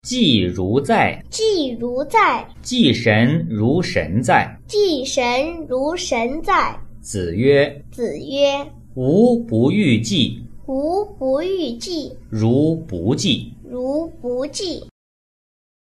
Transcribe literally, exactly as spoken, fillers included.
祭如在， 祭如在， 祭神如神在。 祭神如神在。 子曰： 子曰： 吾不欲祭， 吾不欲祭， 如不祭。 如不祭。